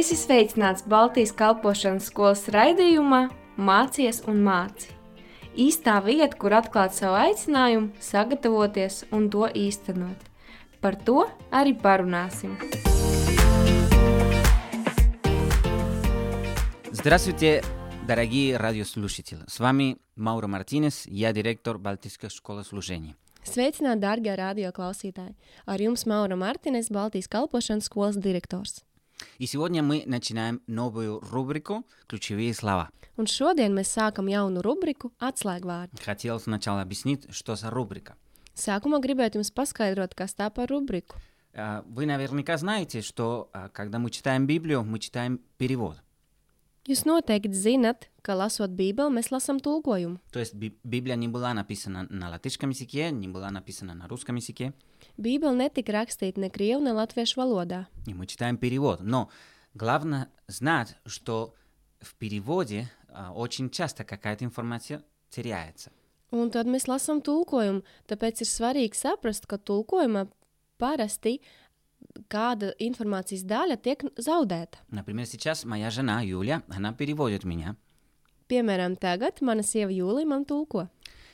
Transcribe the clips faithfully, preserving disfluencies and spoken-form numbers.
Esi sveicināts Baltijas kalpošanas skolas raidījumā Mācies un māci. Īstā vieta, kur atklāt savu aicinājumu, sagatavoties un to īstenot. Par то arī парунасим. Здравствуйте, дорогие радиослушатели. С вами Мауро Мартинес, я директор Балтийской школы служения. Sveicināti, dārgie radioklausītāji! Ar jums Maura Martines, Baltijas kalpošanas skolas direktors. И сегодня мы начинаем новую рубрику «Ключевые слова». Un šodien mēs sākam jaunu rubriku Atslēgvārdi. Хотел сначала объяснить, что за рубрика. Sākumā gribētu jums paskaidrot, kas tā par rubriku. Вы наверняка знаете, что когда мы читаем Библию, мы читаем перевод. Jūs noteikti zinat, ka lasot Bībeli, mēs lasām tulkojumu. То есть Библия не была написана на латышском языке, не была написана на русском языке. Bībeli netika rakstīta ne krievu, ne latviešu valodā. И мы читаем перевод. Но главное знать, что в переводе а, очень часто какая-то информация теряется. Un tad mēs lasām tulkojumu, tāpēc ir svarīgi saprast, ka tulkojumā parasti kāda informācijas daļa tiek zaudēta. Например, сейчас моя жена Юля, она переводит меня. Piemēram, tagad mana sieva Jūlija man tulko.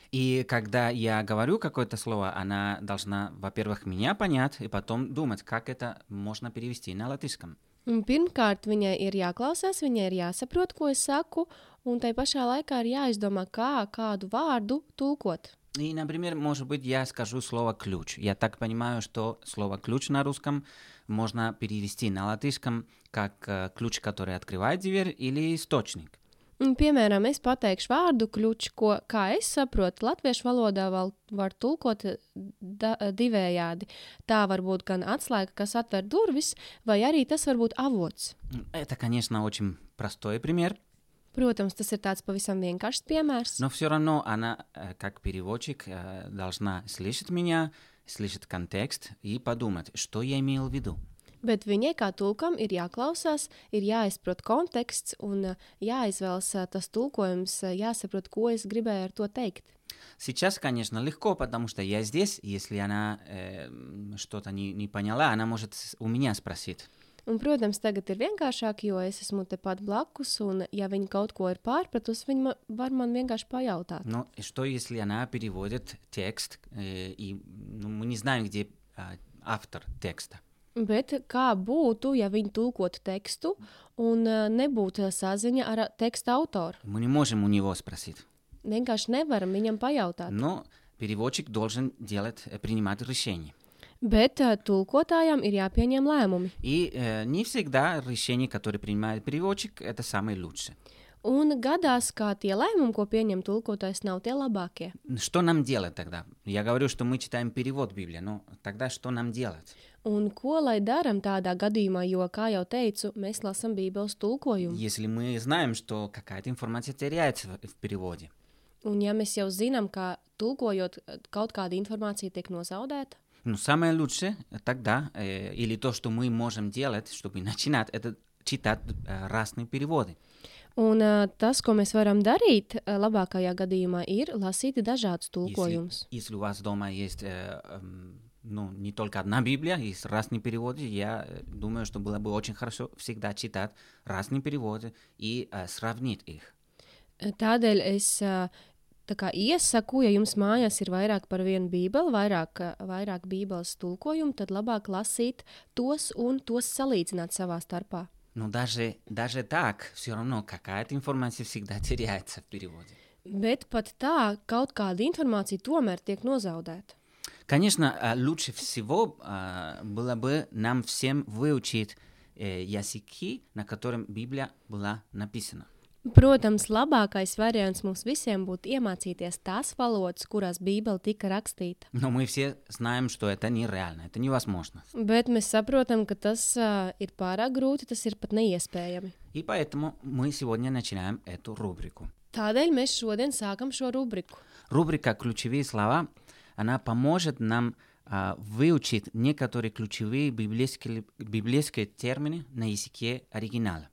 И когда я говорю какое-то слово, она должна, во-первых, меня понять, и потом думать, как это можно перевести на латышском. Un pirmkārt, viņai ir jāklausās, viņai ir jāsaprot, ko es saku, un tai pašā laikā ir jāizdomā, kā kādu vārdu tulkot. И, например, может быть, я скажу слово «ключ». Я так понимаю, что слово «ключ» на русском можно перевести на латышском как э, ключ, который открывает дверь, или источник. Un, piemēram, es pateikšu vārdu kļuč, ko, kā es saprotu, latviešu valodā vēl var tulkot da, divējādi. Tā var būt gan atslēga, kas atver durvis, vai arī tas var būt avots. Это, конечно, очень простой пример. Protams, tas ir tāds pavisam vienkāršs piemērs. Но все равно она, как переводчик, должна слышать меня, слышать контекст и подумать, что я имел в виду. Bet viņai kā tulkam ir jāklausās, ir jāizprot konteksts un jāizvēlas tas tulkojums, jāsaprot, ko es gribēju ar to teikt. Сейчас, конечно, легко, потому что я здесь, если она э, что-то не, не поняла, она может у меня спросить. Un, protams, tagad ir vienkāršāk, jo es esmu tepat blakus, un ja viņa kaut ko ir pārpratus, viņa ma- var man vienkārši pajautāt. Но что, если она переводит текст, э, и ну, мы не знаем, где э, автор текста? Bet kā būtu, ja viņi tulkotu tekstu un uh, nebūtu saziņa ar teksta autoru? Мы не можем у него спросить. Vienkārši nevaram viņam pajautāt. Но переводчик должен делать, принимать решение. Bet uh, tulkotājam ir jāpieņem lēmumi. И э, не всегда решение, которое принимает переводчик, это самое лучшее. Un gadās, kā tie lēmumi, ko pieņem tulkotājs, nav tie labākie. Что нам делать тогда? Я говорю, что мы читаем перевод Библии, но тогда что нам делать? Un ko lai daram tādā gadījumā, jo, kā jau teicu, mēs lasām Bībeles tulkojumu. Если мы знаем, что какая-то информация теряется в, в переводе. Un ja mēs jau zinām, ka tulkojot kaut kāda informācija tiek nozaudēta, Ну, самое лучшее тогда, э, или то, что мы можем делать, чтобы начинать, это читать э, разные переводы. un uh, tas, ko mēs varam darīt, uh, labākajā gadījumā ir lasīt dažādus tulkojumus. Если, если у вас дома есть э, э, ну, не только одна Библия, есть разные переводы, я думаю, что было бы очень хорошо всегда читать разные переводы и э, сравнить их. Tādēļ es uh, tā kā iesaku, ja jums mājās ir vairāk par vienu bībeli, vairāk, uh, vairāk bībeles tulkojumu, tad labāk lasīt tos un tos salīdzināt savā starpā. Но даже, даже так, все равно какая-то информация всегда теряется в переводе. Bet pat tā, kaut kāda informācija tomēr tiek nozaudēta. Конечно, э, лучше всего э, было бы нам всем выучить э, языки, на котором Библия была написана. Protams, labākais variants mums visiem būtu iemācīties tās valodas, kurās Bībele tika rakstīta. Но мы все знаем, что это нереально, это невозможно. Bet mēs saprotam, ka tas uh, ir pārāk grūti, tas ir pat neiespējami. И поэтому мы сегодня начинаем эту рубрику. Tādēļ mēs šodien sākam šo rubriku. Рубрика «Ключевые слова», она поможет нам а, выучить некоторые ключевые библейские, библейские термины на языке оригинала.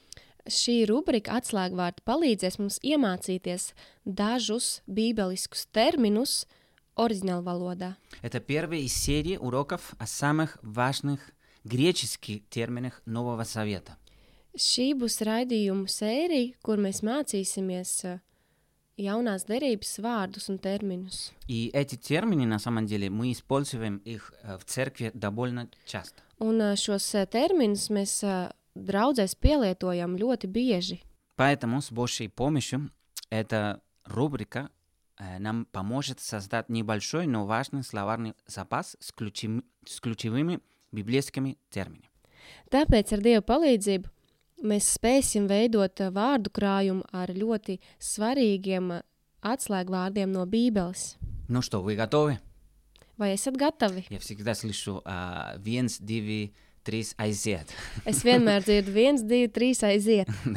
Šī rubrika atslēgvārdi palīdzēs mums iemācīties dažus bībeliskus terminus oriģinālu valodā. Это первая из серии уроков о самых важных греческих терминах Нового Завета. Šī būs raidījumu sērija, kur mēs mācīsimies uh, jaunās derības vārdus un terminus. И эти термины, на самом деле, мы используем их э, в церкви довольно часто. Un uh, šos uh, terminus mēs uh, draudzēs pielietojam ļoti bieži. Поэтому с Божьей помощью эта рубрика э, нам поможет создать небольшой, но важный словарный запас с, ключи- с ключевыми библейскими терминами. Tāpēc ar Dieva palīdzību mēs spēsim veidot uh, vārdu krājumu ar ļoti svarīgiem uh, atslēgvārdiem no Bībeles. Ну что, вы готовы? Vai esat gatavi? Я всегда слышу а, viens, divi, trīs, aiziet. Es vienmēr dzirdu viens, divi, trīs aiziet. Да.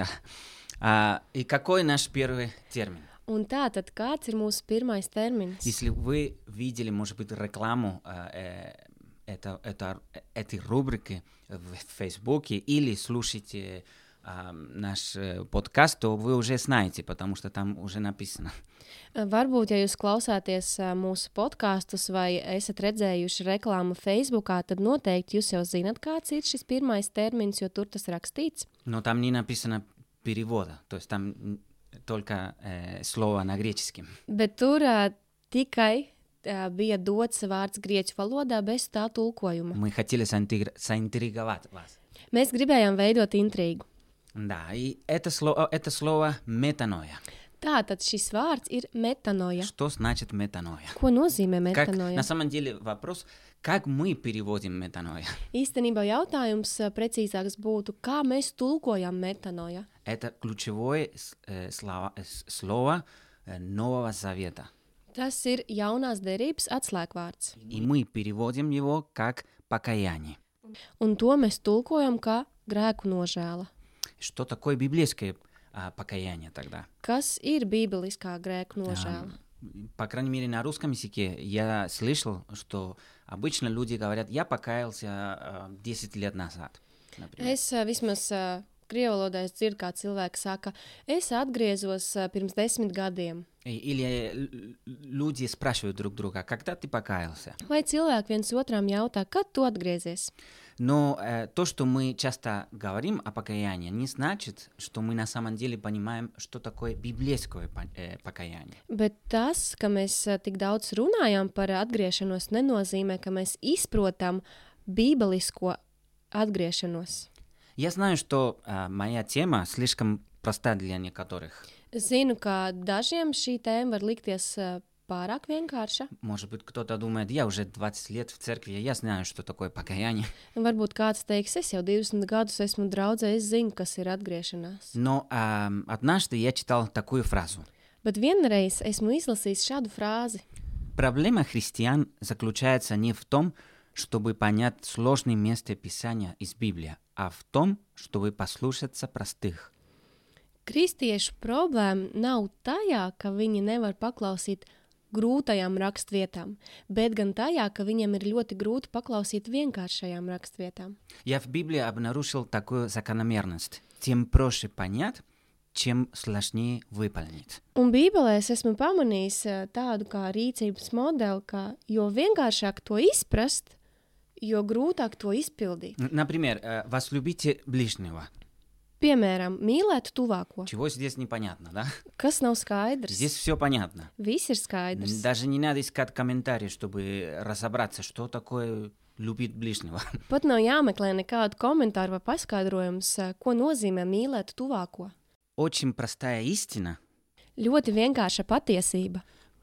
А, и какой наш первый термин? Un tā tad kāds ir mūsu pirmais termins? Если вы видели, может быть, рекламу а, э, это, это, этой рубрики в Фейсбуке или слушаете а, наш э, подкаст, то вы уже знаете, потому что там уже написано. Varbūt, ja jūs klausāties ā, mūsu podkastus vai esat redzējuši reklāmu Facebookā, tad noteikti jūs jau zinat, kāds ir šis pirmais termins, jo tur tas rakstīts. Но там не написано перевода, то есть там м, только э, слово на греческом. Bet tur ā, tikai ā, bija dots vārds grieķu valodā bez tā tulkojuma. Мы хотели заинтегр- заинтриговать вас. Mēs gribējām veidot intrigu. Да, и это слово, это слово метаноя. Tātad šis vārds ir metanoja. Что значит метаноя? Ko nozīmē Как, metanoja? на самом деле вопрос, как мы переводим метаноя? Īstenībā jautājums ā, precīzāks būtu, kā mēs tulkojam metanoja. Это ключевое с- э, слова- э, с- слово э, Нового Завета. Tas ir jaunās derības atslēgvārds. И мы переводим его как покаяние. Un to mēs tulkojam kā grēku nožēla. Что такое библейское а, покаяние тогда? Kas ir bībeliskā grēku nožēla? Ам, По крайней мере, на русском языке я слышал, что обычно люди говорят, я покаялся а, десять лет назад, например. Es ā, vismaz ā, krievu valodā es dzirdu, kā cilvēki saka, es atgriezos ā, pirms desmit gadiem. И- Или л- люди спрашивают друг друга, когда ты покаялся? Vai cilvēki viens otram jautā, kad tu atgriezies? Но э, то, что мы часто говорим о покаянии, не значит, что мы на самом деле понимаем, что такое библейское по- э, покаяние. Bet tas, ka mēs ā, tik daudz runājam par atgriešanos, nenozīmē, ka mēs izprotam bībelisko atgriešanos. Я знаю, что э, моя тема слишком проста для некоторых. Zinu, ka dažiem šī tēma var likties ā, pārāk vienkārša. Может быть, кто-то думает, я уже двадцать лет в церкви, я знаю, что такое покаяние. Varbūt kāds teiks, es jau divdesmit gadus esmu draudzē, es zinu, kas ir atgriešanās. Но э, однажды я читал такую фразу. Bet vienreiz esmu izlasījis šādu frāzi. Проблема христиан заключается не в том, чтобы понять сложные места Писания из Библии, а в том, чтобы послушаться простых. Kristiešu problēma nav tajā, ka viņi nevar paklausīt grūtajām rakstvietām, bet gan tajā, ka viņiem ir ļoti grūti paklausīt vienkāršajām rakstvietām. Я в Библии обнаружил такую закономерность. Тем проще понять, чем сложнее выполнить. Un Bībelē es esmu pamanījis ā, tādu kā rīcības modeli, ka jo vienkāršāk to izprast, jo grūtāk to izpildīt. Н- Например, э, возлюбите ближнего. Piemēram, mīlēt tuvāko. Чего здесь непонятно, да? Kas nav skaidrs? Здесь все понятно. Viss ir skaidrs. Даже не надо искать комментарии, чтобы разобраться, что такое любить ближнего. Pat nav jāmeklē nekādu komentāru vai paskaidrojums, ā, ko nozīmē mīlēt tuvāko. Очень простая истина, Ļoti vienkārša patiesība,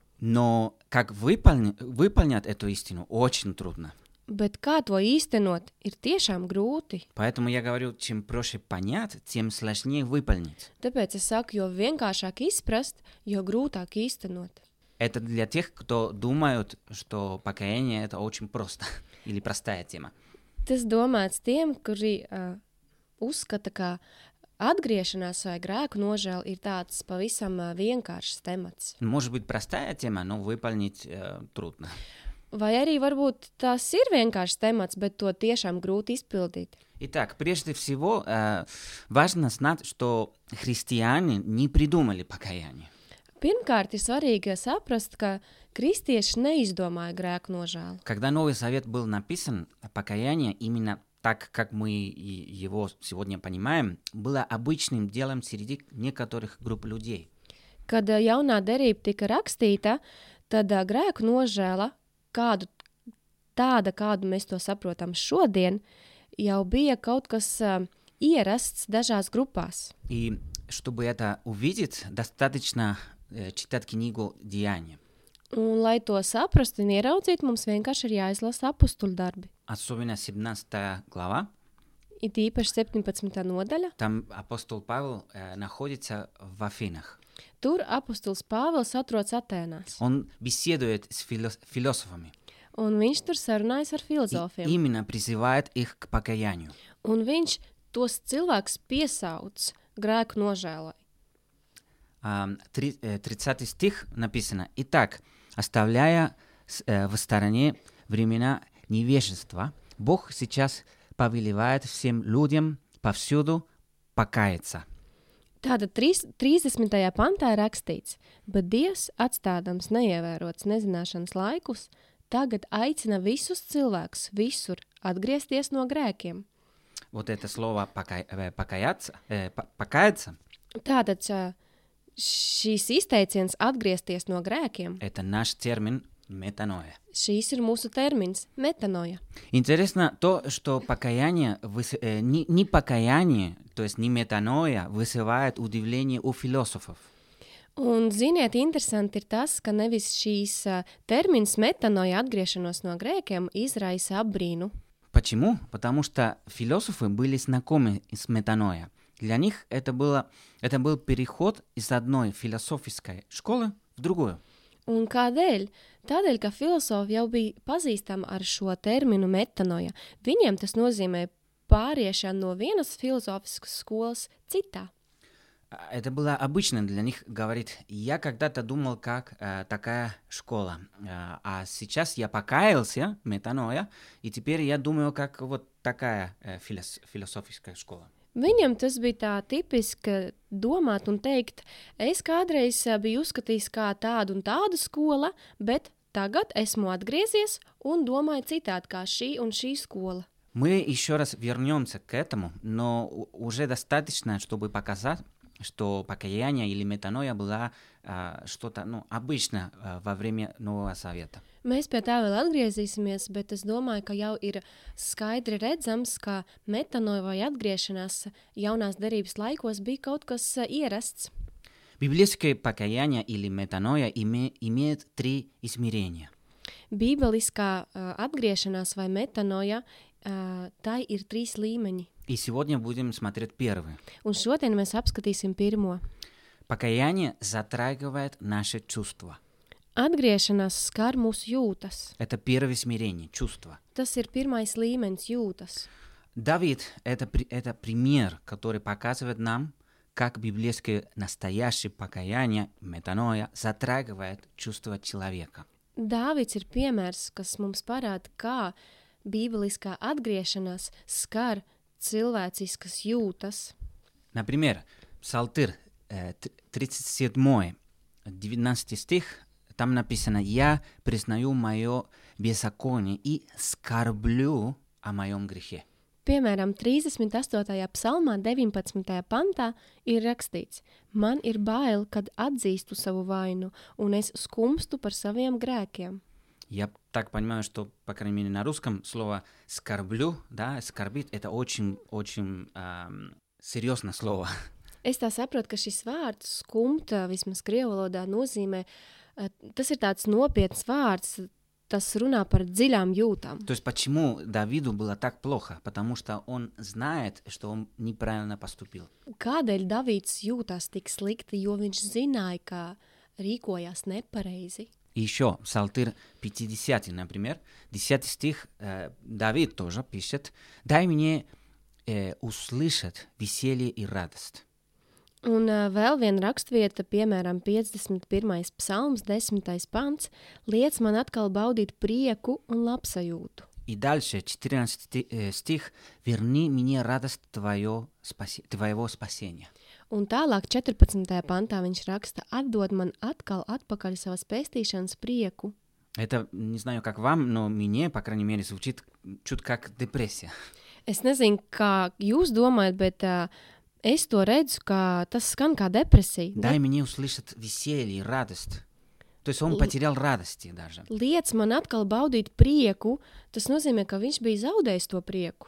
но как выполни- выполнять эту истину очень трудно. bet kā to īstenot, ir tiešām grūti. Поэтому я говорю, чем проще понять, тем сложнее выполнить. Tāpēc es saku, jo vienkāršāk izprast, jo grūtāk īstenot. Это для тех, кто думают, что покаяние это очень просто или простая тема. Tas domāts tiem, kuri uh, uzskata, ka atgriešanās vai grēku nožēla ir tāds pavisam uh, vienkāršs temats. Может быть простая тема, но выполнить э, трудно. Vai arī varbūt tas ir vienkāršs temats, bet to tiešām grūti izpildīt. Итак, прежде всего э, важно знать, что христиане не придумали покаяние. Pirmkārt, ir svarīgi saprast, ka kristieši neizdomāja grēku nožēlu. Когда Новый Завет был написан, покаяние именно так как мы его сегодня понимаем, было обычным делом среди некоторых групп людей. Kad uh, jaunā derība tika rakstīta, tad uh, grēku nožēla, kādu, tāda, kādu mēs to saprotam šodien, jau bija kaut kas uh, ierasts dažās grupās. И чтобы это увидеть, достаточно э, читать книгу «Деяния». Un, lai to saprastu un ieraudzītu, mums vienkārši ir jāizlasa apustuļu darbi. Особенно семнадцатая глава. It īpaši septiņpadsmitā nodaļa. Там апостол Павел э, находится в Афинах. Tur apustulis Pāvils atrodas Atēnās. Он беседует с филос- философами. Un viņš tur sarunājas ar И filozofiem. именно призывает их к покаянию. Un viņš tos cilvēkus piesauc grēku nožēlai. А, три- э, тридцатый стих написано: «Итак, оставляя с- э, в стороне времена невежества, Бог сейчас повелевает всем людям повсюду покаяться». Tātad trīs- trīsdesmitajā pantā ir rakstīts, bet Dievs, atstādams neievērots nezināšanas laikus, tagad aicina visus cilvēkus visur atgriezties no grēkiem. Вот это слово «пока- э, «покаяться», э, по- «покаяться» Tātad ā, šīs izteiciens atgriezties no grēkiem, это наш термин «метаноя». šīs ir mūsu termins metanoja. Интересно то, что покаяние, выс- э, не, не покаяние, то есть не метаноя, вызывает удивление у философов. Un, ziniet, interesanti ir tas, ka nevis šīs ā, termins metanoja atgriešanos no grēkiem izraisa apbrīnu. Почему? Потому что философы были знакомы с метаноя. Для них это, было, это был переход из одной философской школы в другую. Un kādēļ? Tādēļ, ka filozofi jau bija pazīstami ar šo terminu metanoja. Viņiem tas nozīmē pāriešanu no vienas filozofiskas skolas citā. А, Это было обычно для них говорить: я когда-то думал, как э, такая школа, а, а сейчас я покаялся, метаноя, и теперь я думаю, как вот такая э, филос- философская школа. Viņam tas bija tā tipiski domāt un teikt, es kādreiz ā, biju uzskatījis kā tādu un tādu skola, bet tagad esmu atgriezies un domāju citādi kā šī un šī skola. Мы еще раз вернемся к этому, но у- уже достаточно, чтобы показать, что покаяние или метаноя была а, что-то ну, обычно а, во время Нового Завета. Mēs pie tā vēl atgriezīsimies, bet es domāju, ka jau ir skaidri redzams, ka metanoja vai atgriešanās jaunās derības laikos bija kaut kas ā, ierasts. Библейское покаяние или метаноя име- имеет три измерения. Bībeliskā ā, atgriešanās vai metanoja, ā, tai ir trīs līmeņi. И сегодня будем смотреть первый. Un šodien mēs apskatīsim pirmo. Покаяние затрагивает наши чувства. Atgriešanās skar mūsu jūtas. Это первое измерение, чувства. Tas ir pirmais līmenis jūtas. Давид это, при- это пример, который показывает нам, как библейское настоящее покаяние, метаноя, затрагивает чувства человека. Dāvids ir piemērs, kas mums parāda, kā bībeliskā atgriešanās skar cilvēciskas jūtas. Например, Псалтырь э, т- тридцать семь, девятнадцатый стих, там написано: «Я признаю мое беззаконие и скорблю о моем грехе». Piemēram, trīsdesmit astotajā psalmā, deviņpadsmitajā pantā ir rakstīts: Man ir bail, kad atzīstu savu vainu, un es skumstu par saviem grēkiem. Я так понимаю, что, по крайней мере, на русском слово «скорблю», да, «скорбит» — это очень-очень эм, серьезное слово. Es tā saprotu, ka šis vārds skumta, vismaz krievu valodā, nozīmē, eh, tas ir tāds nopietns vārds, tas runā par dziļām jūtām. То есть почему Давиду было так плохо? Потому что он знает, что он неправильно поступил. Kādēļ Davīds jūtās tik slikti, jo viņš zināja, ka rīkojās nepareizi? И еще Псалтырь пятидесятый, например, десятый стих, э, Давид тоже пишет: «Дай мне э, услышать веселье и радость». Un uh, vēl viena rakstvieta, piemēram, piecdesmit pirmais psalms, desmitais pants, liec man atkal baudīt prieku un labsajūtu. И дальше четырнадцатый э, стих: «Верни мне радость твое, спаси- твоего спасения». Un tālāk četrpadsmitajā pantā viņš raksta: atdod man atkal atpakaļ savas pestīšanas prieku. Это, не знаю, как вам, но мне, по крайней мере, звучит чуть как депрессия. Es nezinu, kā jūs domājat, bet uh, es to redzu, ka tas skan kā depresija. Дай мне услышать веселье и радость. То есть он потерял радости даже. Liec man atkal baudīt prieku, tas nozīmē, ka viņš bija zaudējis to prieku,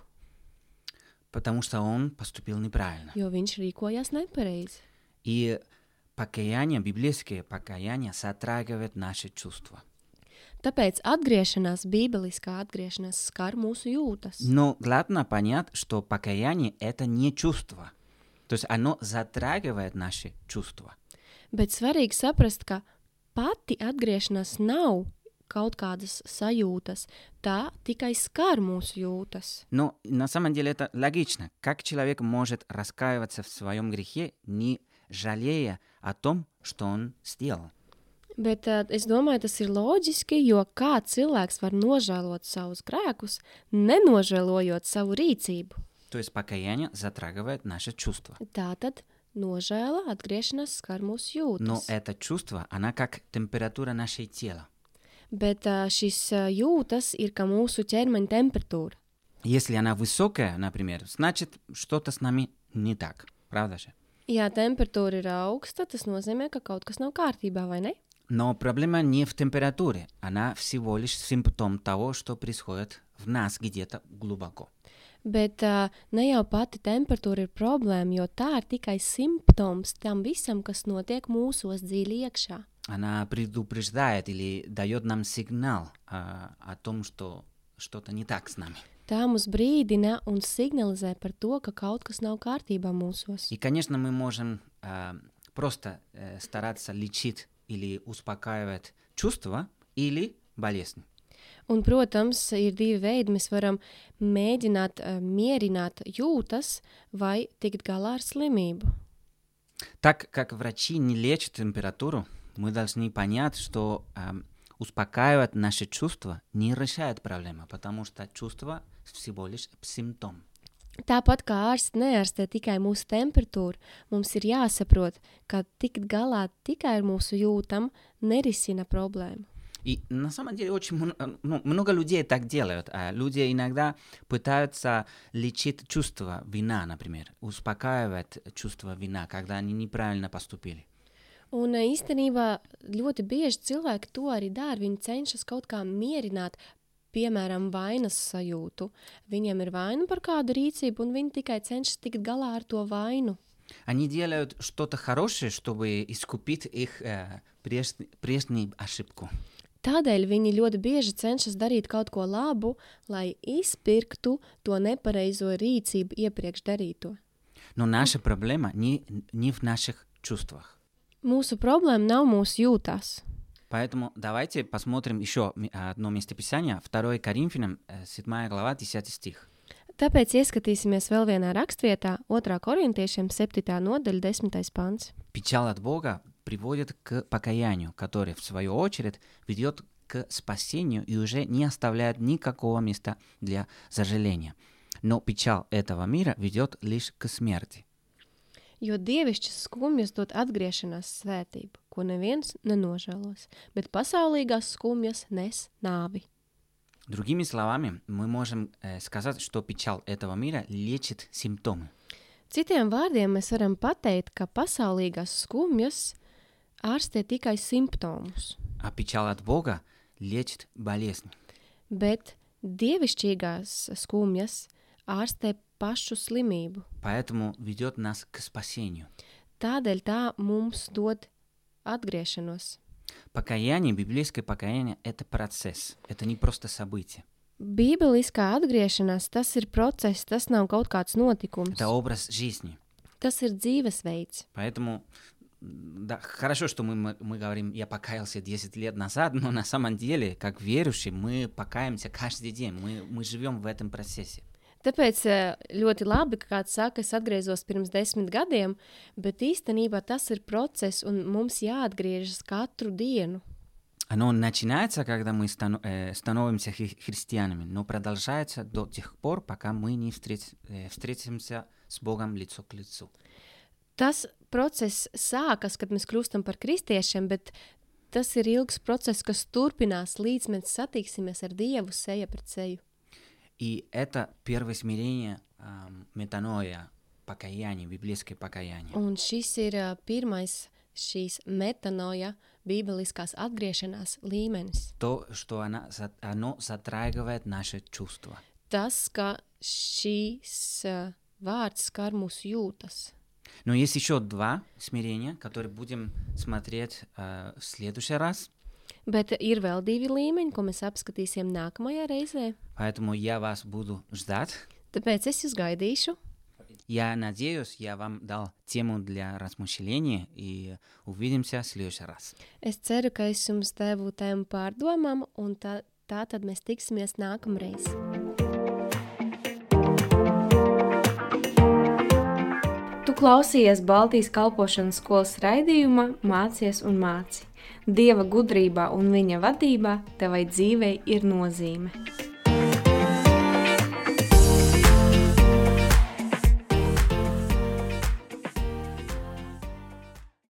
Потому что он поступил неправильно. jo viņš rīkojās nepareizi. И покаяние, библейское покаяние затрагивает наши чувства. Tāpēc atgriešanās, bībeliskā atgriešanās skar mūsu jūtas. Но главное понять, что покаяние – это не чувство. То есть оно затрагивает наши чувства. Bet svarīgi saprast, ka pati atgriešanās nav kaut kādas sajūtas, tā tikai skar mūsu jūtas. Но на самом деле это логично. Как человек может раскаиваться в своем грехе, не жалея о том, что он сделал? Bet uh, es domāju, tas ir loģiski, jo kā cilvēks var nožēlot savus grēkus, nenožēlojot savu rīcību. То есть покаяние затрагивает наши чувства. Tātad nožēla, atgriešanās skar mūsu Но jūtas. это чувство, она как температура нашего тела. Bet uh, šis uh, jūtas ir kā mūsu ķermeņa temperatūra. Если она высокая, например, значит, что-то с нами не так. Правда же? Ja temperatūra ir augsta, tas nozīmē, ka kaut kas nav kārtībā, vai ne? Но проблема не в температуре. Она всего лишь симптом того, что происходит в нас где-то глубоко. Bet uh, ne jau pati temperatūra ir problēma, jo tā ir tikai simptoms tam visam, kas notiek mūsos dziļi iekšā. Она предупреждает или дает нам сигнал а, о том, что что-то не так с нами. Tā mums brīdina un signalizē par to, ka kaut kas nav kārtībā mūsos. И, конечно, мы можем а, просто а, стараться лечить или успокаивать чувства или болезнь. Un, protams, ir divi veidi. Mēs varam mēģināt uh, mierināt jūtas vai tikt galā ar slimību. Так как врачи не лечат температуру, мы должны понять, что а, успокаивать наши чувства не решает проблему, потому что чувство всего лишь симптом. Tāpat kā ārsts neārstē tikai mūsu temperatūru, mums ir jāsaprot, ka tikt galā tikai ar mūsu jūtam nerisina problēmu. И на самом деле очень ну, много людей так делают. А люди иногда пытаются лечить чувство вина, например, успокаивать чувство вина, когда они неправильно поступили. Un īstenībā ļoti bieži cilvēki to arī dara. Viņi cenšas kaut kā mierināt, piemēram, vainas sajūtu. Viņiem ir vaina par kādu rīcību, un viņi tikai cenšas tikt galā ar to vainu. Они делают что-то хорошее, чтобы искупить их э, преж... прежнюю ошибку. Tādēļ viņi ļoti bieži cenšas darīt kaut ko labu, lai izpirktu to nepareizo rīcību iepriekš darīto. Но наша проблема не, не в наших чувствах. Mūsu problēma nav mūsu jūtās. Поэтому давайте посмотрим еще одно местописание, второе Коринфянам, седьмая глава, десятый стих. Tāpēc ieskatīsimies vēl vienā rakstvietā, otrā korintiešiem septītā nodaļa, desmitais pants. Печаль от Бога приводит к покаянию, которое, в свою очередь, ведет к спасению и уже не оставляет никакого места для сожаления. Но печаль этого мира ведет лишь к смерти. Jo dievišķas skumjas dod atgriešanās svētību, ko neviens nenožēlos, bet pasaulīgās skumjas nes nāvi. Другими словами, мы можем э, сказать, что печаль этого мира лечит симптомы. Citiem vārdiem mēs varam pateikt, ka pasaulīgās skumjas ārstē tikai simptomus, А печаль от Бога лечит болезнь. bet dievišķīgās skumjas ārstē pašu slimību. Поэтому ведет нас к спасению. Tādēļ tā mums dod atgriešanos. Покаяние, библейское покаяние – это процесс, это не просто событие. Bībeliskā atgriešanās, tas ir process, tas nav kaut kāds notikums. Это образ жизни. Tas ir dzīvesveids. Поэтому да, хорошо, что мы, мы, мы говорим, я покаялся десять лет назад, но на самом деле, как верующие, мы покаемся каждый день, мы, мы живем в этом процессе. Tāpēc ļoti labi, ka kāds saka, es atgriezos pirms desmit gadiem, bet īstenībā tas ir process un mums jāatgriežas katru dienu. Оно начинается, когда мы станов, э, становимся хри- христианами, но продолжается до тех пор, пока мы не встреч, э, встретимся с Богом лицо к лицу. Tas process sākas, kad mēs kļūstam par kristiešiem, bet tas ir ilgs process, kas turpinās, līdz mēs satiksimies ar Dievu seja pret seju. И это первое смирение, метаноя, покаяние, библейское покаяние. Un šis ir uh, pirmais šīs metanoja, bībeliskās atgriešanās līmenis. То, что она, оно затрагивает наши чувства. Tas, ka šīs uh, vārds skar mūsu jūtas. Но есть еще два смирения, которые будем смотреть uh, в следующий раз. Bet ir vēl divi līmeņi, ko mēs apskatīsim nākamajā reizē. Поэтому я вас буду ждать. Tāpēc es jūs gaidīšu. Я надеюсь, я вам дал тему для размышления, и увидимся в следующий раз. Es ceru, ka es jums devu tēmu pārdomām, un tā, tā tad mēs tiksimies nākamreiz. Tu klausījies Baltijas kalpošanas skolas raidījumā Mācies un māci. Dieva gudrībā un viņa vadībā tevai dzīvei ir nozīme.